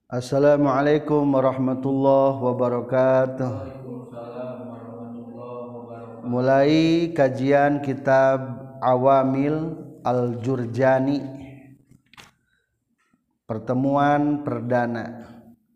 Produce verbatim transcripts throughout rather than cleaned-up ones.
Assalamualaikum warahmatullahi wabarakatuh. Mulai kajian kitab Awamil Al-Jurjani, pertemuan perdana.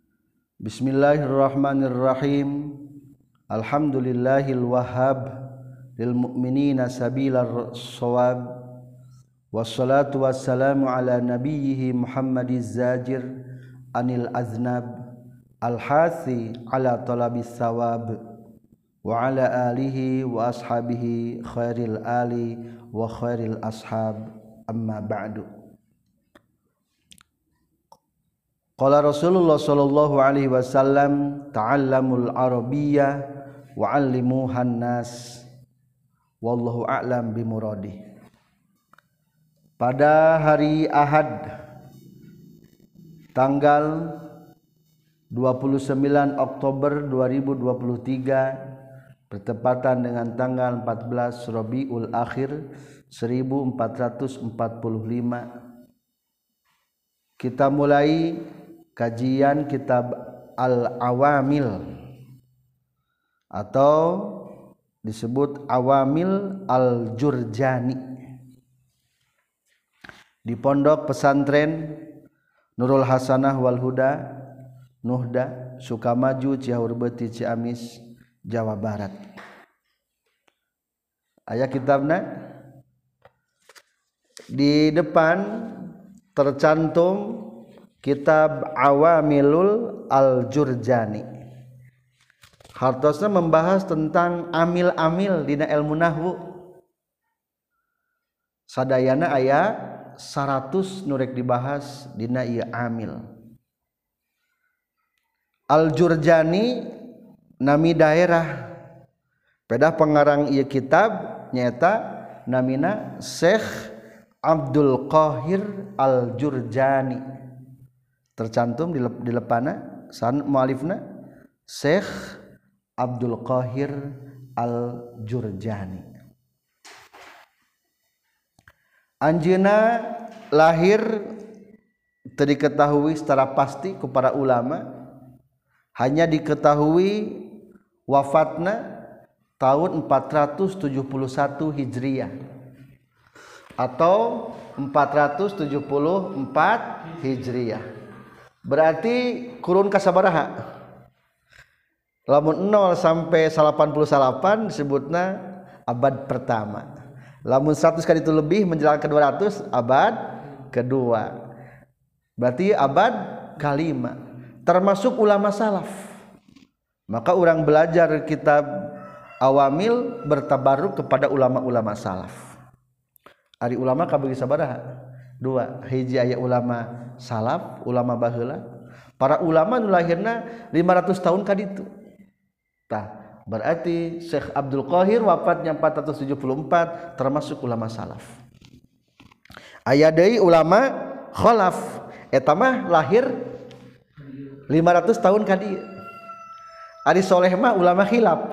Bismillahirrahmanirrahim. Alhamdulillahil wahhab lil mu'minina sabilar shawab. Wassalatu wassalamu ala nabiyhi Muhammadiz zajir anil aznab al-hasi ala talabis sawab wa ala alihi wa ashabihi khairil ali wa khairil ashab, amma ba'du. Qala Rasulullah sallallahu alaihi wasallam, ta'allamul arabiyyah wa 'allimuhan nas, wallahu a'lam bimuradih. Pada hari Ahad tanggal dua puluh sembilan Oktober dua ribu dua puluh tiga bertepatan dengan tanggal empat belas Rabiul Akhir seribu empat ratus empat puluh lima, kita mulai kajian kitab Al-Awamil atau disebut Awamil Al-Jurjani di pondok pesantren Nurul Hasanah wal Huda, Nuhda, Sukamaju, Ciaur Beuti, Ciamis, Jawa Barat. Aya kitabna di depan tercantum kitab Awamilul Al-Jurjani. Hartosna membahas tentang amil-amil dina ilmu nahwu. Sadayana aya seratus nurek dibahas dina ieu amil. Al-Jurjani nami daerah, pedah pengarang ieu kitab nyaeta namina Syekh Abdul Qahir Al-Jurjani. Tercantum di di lepana san mualifna Syekh Abdul Qahir Al-Jurjani. Anjeunna lahir teu diketahui secara pasti ku para ulama, hanya diketahui wafatna tahun empat ratus tujuh puluh satu Hijriah atau empat ratus tujuh puluh empat Hijriah. Berarti kurun kasabaraha? Lamun nol sampai delapan puluh delapan disebutna abad pertama. Lamun seratus kali itu lebih menjelang ke dua ratus abad kedua. Berarti abad kelima, termasuk ulama salaf. Maka orang belajar kitab Awamil bertabaruk kepada ulama-ulama salaf. Ari ulama kabagi sabaraha? Dua. Hiji aya ulama salaf, ulama baheula. Para ulama nu lahirna lima ratus tahun ka ditu. Tah, berarti Syekh Abdul Qahir wafatnya empat ratus tujuh puluh empat, termasuk ulama salaf. Aya deui ulama khalaf, eta mah lahir lima ratus tahun ka dieu. Ari soleh mah ulama khilaf.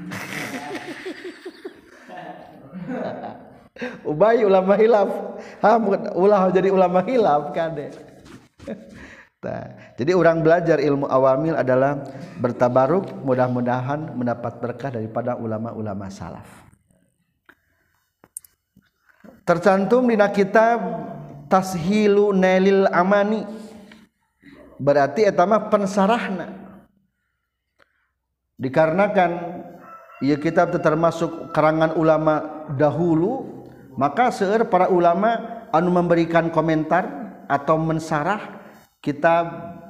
Ubay ulama khilaf, ha ulah jadi ulama khilaf kade. Nah, jadi orang belajar ilmu awamil adalah bertabaruk, mudah-mudahan mendapat berkah daripada ulama-ulama salaf. Tercantum di kitab Tashilu Nailil Amani, berarti eta mah pensarahna. Dikarenakan ieu kitab termasuk karangan ulama dahulu, maka seueur para ulama anu memberikan komentar atau mensarah kitab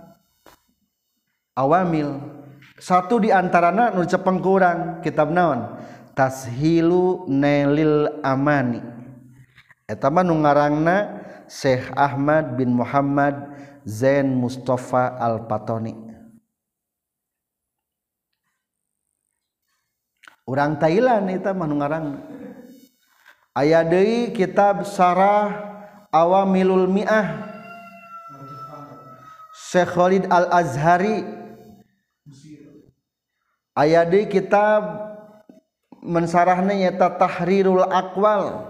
Awamil. Satu di antarana nu cepeng ku urang kitab naon? Tashilu Nailil Amani. Eta mah nu ngarangna Syekh Ahmad bin Muhammad Zain Mustafa Al-Patoni. Urang Thailand eta mah nu ngarangna. Aya deui kitab Sarah Awamilul Mi'ah Syekh Khalid Al-Azhari. Aya deui kitab mensarahna nyata Tahrirul Aqwal,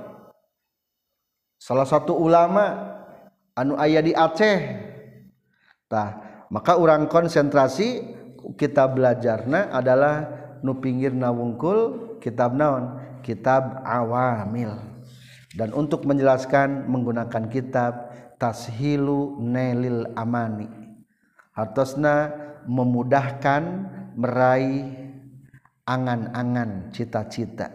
salah satu ulama anu aya di Aceh. Tah, maka urang konsentrasi kitab belajarna adalah nu pinggirna wungkul kitab naon kitab awamil. Dan untuk menjelaskan menggunakan kitab Tashilu Nailil Amani, hartosna memudahkan meraih angan-angan cita-cita.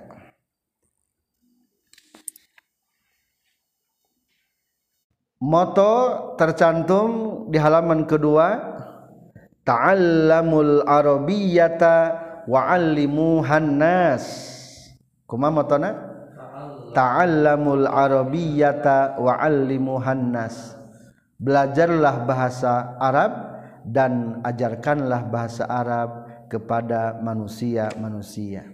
Moto tercantum di halaman kedua, ta'allamul arabiyyata wa'allimuhan nas. Kumaha motona? Ta'allamul arabiyyata wa'allimuhan nas. Belajarlah bahasa Arab dan ajarkanlah bahasa Arab kepada manusia-manusia.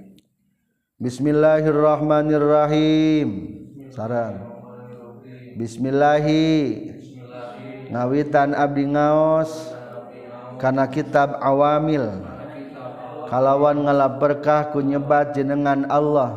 Bismillahirrahmanirrahim. Sareng. Bismillahi ngawitan abdi ngaos kana kitab awamil kalawan ngalaberkah ku nyebat jenengan Allah,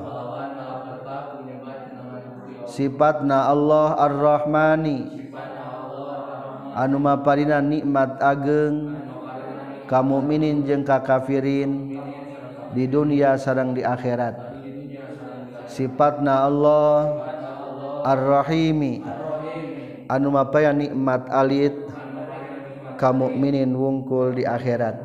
sifatna Allah Ar-Rahmani anu maparina nikmat ageng ka mukminin jeung ka kafirin di dunia sareng di akhirat. Sifatna Allah Ar-Rahimi anu mapaya nikmat alit ka mukminin wungkul di akhirat.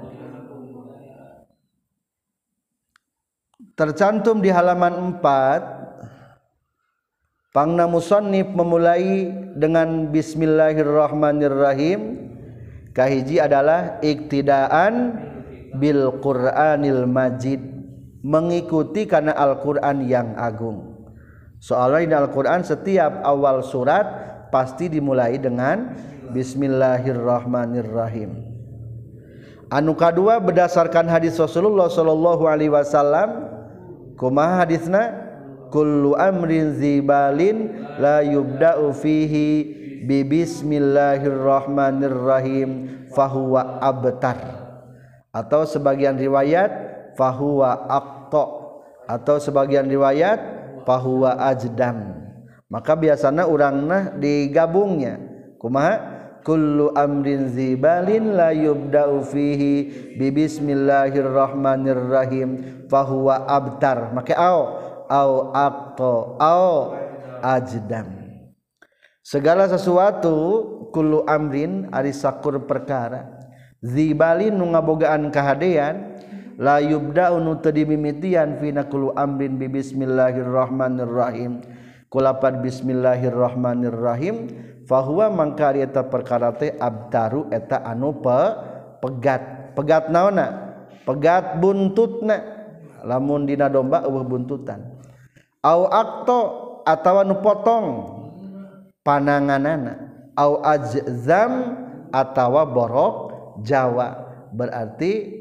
Tercantum di halaman empat, pangna musannif memulai dengan bismillahirrahmanirrahim. Kahiji adalah iktidaan bil Qur'anil Majid, mengikuti kana Al-Qur'an yang agung. Soalnya di Al-Quran setiap awal surat pasti dimulai dengan Bismillahirrahmanirrahim. Anu kadua berdasarkan hadis Rasulullah Shallallahu Alaihi Wasallam, kumaha hadisna? Kullu amrin zibalin la yubda'u fihi bi Bismillahirrahmanirrahim fahuwa abtar, atau sebagian riwayat fahuwa aqta, atau sebagian riwayat fahuwa ajdam. Maka biasanya urangna digabungnya kumaha kullu amrin zibalin la yubda'u fihi bi bismillahirrahmanirrahim fahuwa abtar, maka au au aqta au ajdam. Segala sesuatu kullu amrin ari sakur perkara zibalin nu ngabogaan kahadean la yubda'u nu teu dimimitian fina kullu amrin bi bismillahirrahmanirrahim kulapan bismillahirrahmanirrahim fahuwa mangka eta perkara teh abtaru eta anu pe, pegat pegat naonna pegat buntutna lamun dina domba eueuh buntutan au aqto atawa nu potong pananganana au ajzam atawa borok jawa, berarti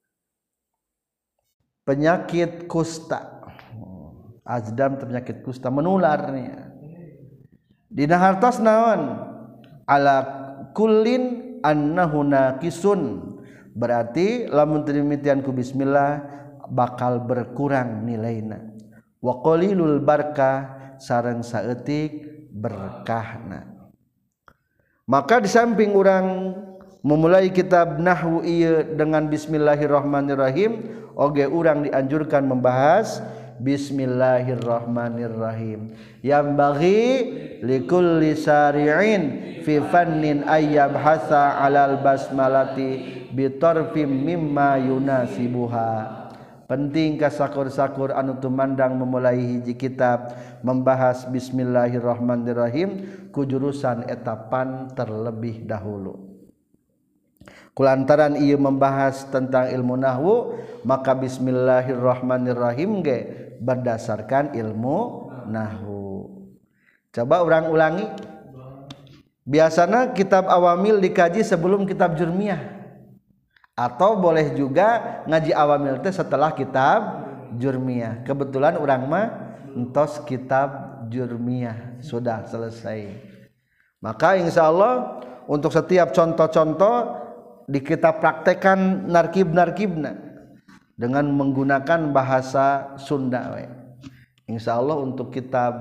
penyakit kusta. Ajdam penyakit kusta menularnya. Dina hartos naon? Ala kullin annahu naqisun. Berarti lamun teu dimimitian ku bismillah bakal berkurang nilaina. Wa qalilul barakah sareng saeutik berkahna. Maka di samping urang memulai kitab nahwu ieu dengan bismillahirrahmanirrahim, oge urang dianjurkan membahas bismillahirrahmanirrahim. Yang bagi likulli sari'in fi fannin ayyab hasa alal basmalati bitarfim mimma yunasibuha. Penting ka sakur-sakur anu tumandang memulai hiji kitab membahas bismillahirrahmanirrahim ku jurusan etapan terlebih dahulu. Kulantaran ia membahas tentang ilmu nahwu, maka bismillahirrahmanirrahim ge berdasarkan ilmu nahwu. Coba urang ulangi. Biasanya kitab awamil dikaji sebelum kitab jurmiyah, atau boleh juga ngaji awamil teh setelah kitab jurmiyah. Kebetulan urang mah entos kitab jurmiyah sudah selesai. Maka insyaallah untuk setiap contoh-contoh di kita praktekkan narkib-narkibna dengan menggunakan bahasa Sunda we. Insyaallah untuk kitab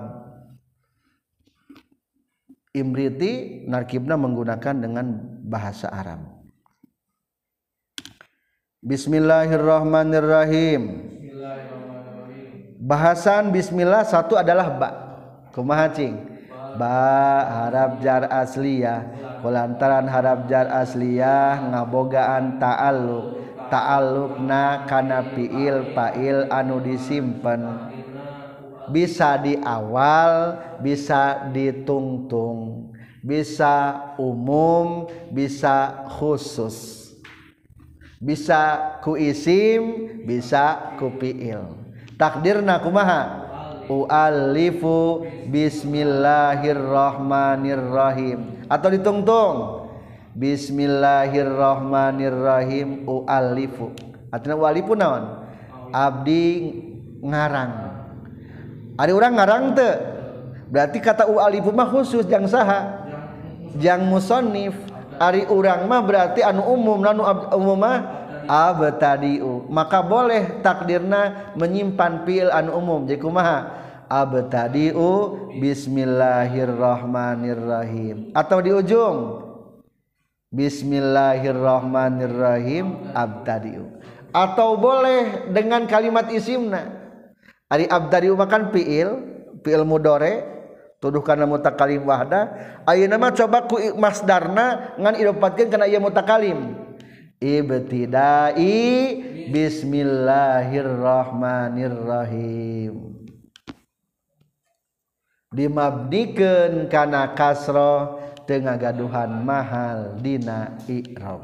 Imriti narkibna menggunakan dengan bahasa Arab. Bismillahirrahmanirrahim. Bahasan bismillah satu adalah ba. Kumaha cing? Ba harap jar asliyah. Kulantaran harap jar asliyah ngabogaan ta'alluq. Ta'alluqna kana fiil fa'il anu disimpen. Bisa di awal, bisa ditungtung, bisa umum, bisa khusus. Bisa ku isim, bisa ku fiil. Takdirna kumaha? U'allifu bismillahirrahmanirrahim. Atau ditungtung. Bismillahirrahmanirrahim u'allifu. Artinya u'allifu naon? Abdi ngarang. Ari urang ngarang teu. Berarti kata u'allifu mah khusus jang saha? Jang musannif. Ari urang mah berarti anu umum, anu umum mah abtadi'u. Maka boleh takdirna menyimpan fiil anu umum. Jadi kumaha? Abtadi'u bismillahirrahmanirrahim. Atau di ujung bismillahirrahmanirrahim abtadi'u. Atau boleh dengan kalimat isimna. Ari abtadi'u makan fiil, fiil mudhari tuduh kana mutakalim wahda. Ayeuna mah coba ku masdarna ngan idopatkeun kana ieu mutakalim. Ibtidai bismillahirrahmanirrahim. Dimabdikeun kana kasroh teu ngagaduhan mahal dina i'rab.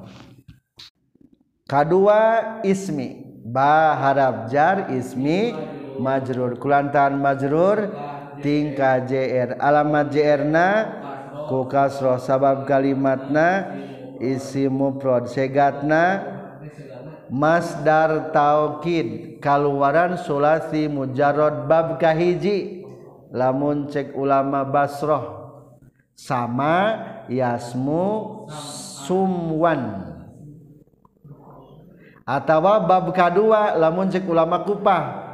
Kadua ismi, ba harap jar ismi majrur. Kulantaran majrur tingkah jr. Alamat jr-na ku kasroh sabab kalimatna isim mufrad. Segatna masdar taukid kaluaran sulasi mujarrad bab kahiji. Lamun cek ulama Basroh sama yasmu sumwan. Atawa bab kadua lamun cek ulama Kupah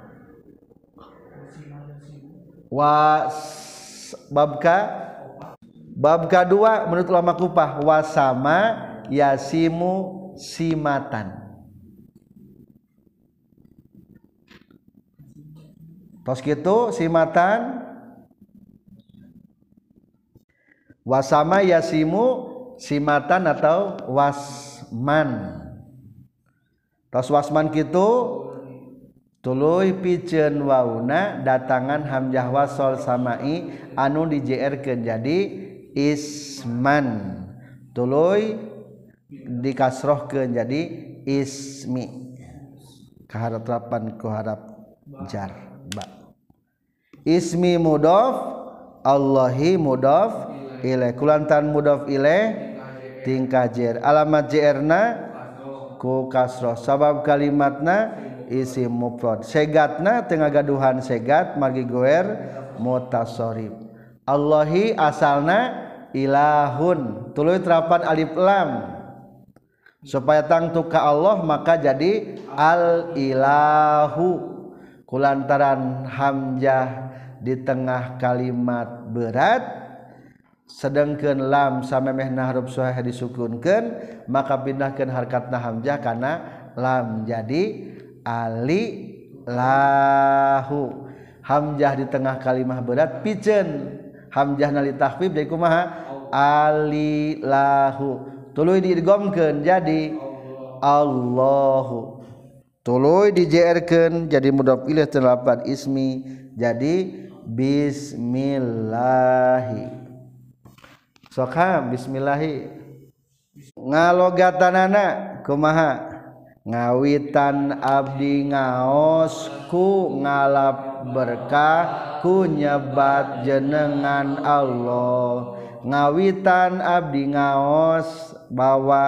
wa babka bab kedua menurut ulama Kupah wasama yasimu simatan. Tos kitu simatan wasama yasimu simatan atau wasman. Tos wasman kitu tuluy piceun wauna datangan hamzah wasol samai anu dijerkeun jadi isman. Tuluy dikasrohkeun jadi ismi. Kaharapan ku harap jar ba. Ismi mudhof, Allahi mudhof ilaih. Kulantan mudhof ilaih tingkah jer. Alamat jr-na ku kasroh sabab kalimatna isim mufrad. Segatna teu ngagaduhan segat margi goer mutasharrif. Allahi asalna ilahun. Tuluy terapan alif lam supaya tangtu ka Allah maka jadi al ilahu. Kulantaran hamzah di tengah kalimat berat sedangkeun lam samemehna huruf shahih disukunkeun maka pindahkeun harkatna hamzah kana lam jadi ali lahu. Hamzah di tengah kalimat berat piceun hamzah nali takhfif jadi kumaha ali lahu. Tuluy diidghamkeun jadi Allahu. Tuluy dijerkeun jadi mudhof ilaih terlapan ismi jadi bismillahi. Sok ha bismillahi. Ngalogatanana kumaha? Ngawitan abdi ngaos ku ngalap berkah ku nyebat jenengan Allah. Ngawitan abdi ngaos bawa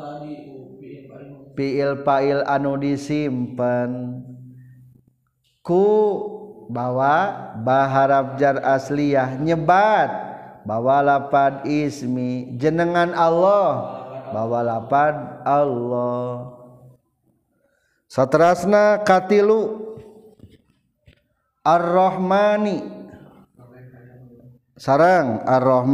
fiil fa'il anu disimpen ku bawa baharap jar asliyah nyebat bawa lapad ismi jenengan Allah bawa lapad Allah. Saterasna katilu ar-rahmani sareng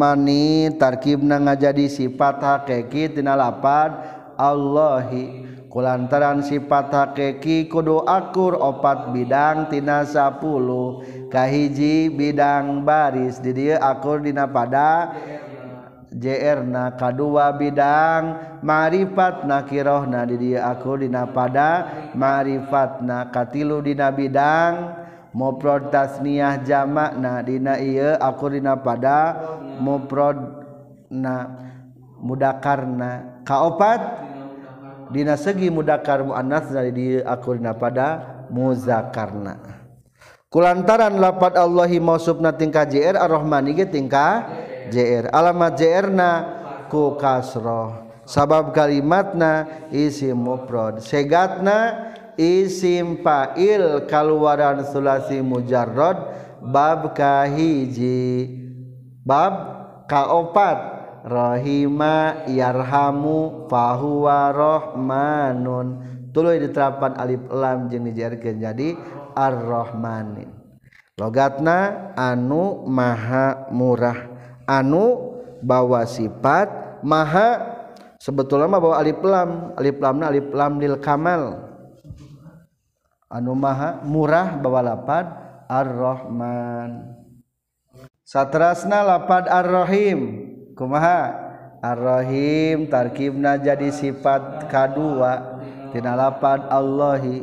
ar-rahmani tarkibna ngajadi sifat hakiki tina lapad Allahi. kulantaran sifat hakiki kudu akur opat bidang tina sapuluh kahiji bidang baris di dieu akur dina pada jerna kadua bidang ma'rifat nakirohna di dieu akur dina pada ma'rifatna katilu dina bidang mufrad tasniyah jamakna dina ieu akur dina pada mufradna mudakarna kaopat dina segi mudakar muannas dari dieu akur dina pada muzakarna kulantaran lafad Allahi mausufna tingkah jr ar-rahmani ge tingkah jr alamat jr-na ku kasroh sabab kalimatna isim mufrad segatna isim fa'il kaluaran sulasi mujarrad bab kahiji bab kaopat rahima yarhamu fahuwa rahmanun tuluy diterapan alif lam jeung dijarkeun jadi ar-rahmanin logatna anu maha murah anu bawa sifat maha sebetulna mah bawa alif lam alif lamna alif lam lil kamal anu maha murah bawa lapad ar-rahman saterasna lapad ar-rahim kumaha ar-rahim tarkibna jadi sifat kadua tina lapad Allahi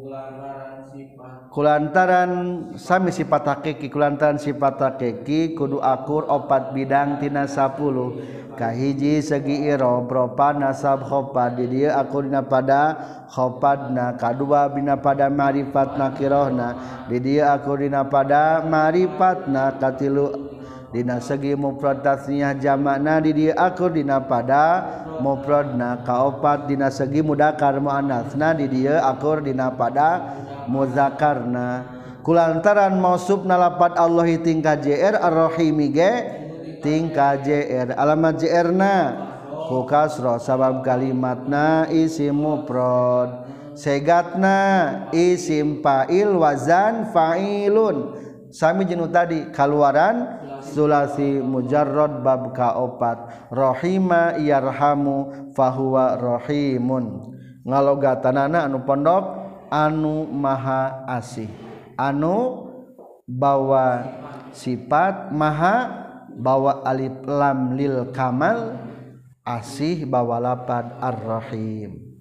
kulantaran sami sifat hakiki kulantaran sifat hakiki kudu akur opat bidang tina sapuluh kahiji segi i'rab ropa nasab khofad di dieu akur dina pada khopadna kadua bina pada ma'rifat nakirohna di dieu akur dina pada ma'rifatna katilu dina segi mufrad tasniyah jamakna di dieu akur dina pada mufradna kaopat dina segi mudakar muannasna di dieu akur dina pada muzakarna kulantaran mausufna lafad Allahi tingkah jr ar-rahimi ge tingkah jr alamat jr-na ku kasroh sabab kalimatna isim mufrad segatna isim fa'il wazan fa'ilun sami jeung tadi kaluaran sulasi mujarrad bab kaopat rahima yarhamu fahuwa rahimun ngalogatanana anu pondok anu maha asih anu bawa sifat maha bawa alif lam lil kamal asih bawa lapad ar-rahim